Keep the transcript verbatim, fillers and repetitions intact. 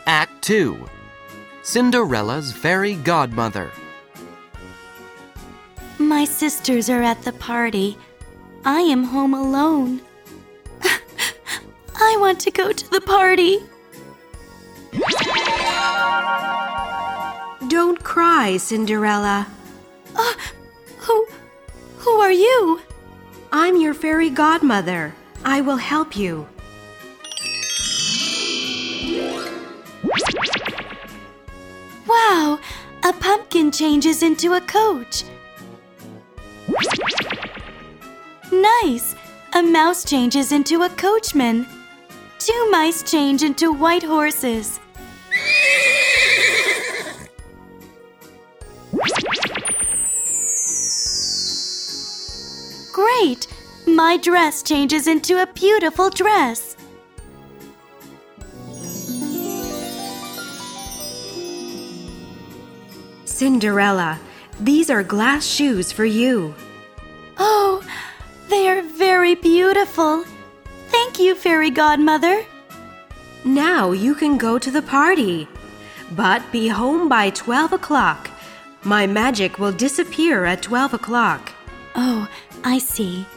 Act two. Cinderella's Fairy Godmother. My sisters are at the party. I am home alone. I want to go to the party. Don't cry, Cinderella. Uh, who, who are you? I'm your fairy godmother. I will help you. Wow, a pumpkin changes into a coach. Nice, a mouse changes into a coachman. Two mice change into white horses. Great! My dress changes into a beautiful dress. Cinderella, these are glass shoes for you. Oh, they are very beautiful. Thank you, Fairy Godmother. Now you can go to the party. But be home by twelve o'clock. My magic will disappear at twelve o'clock. Oh, I see.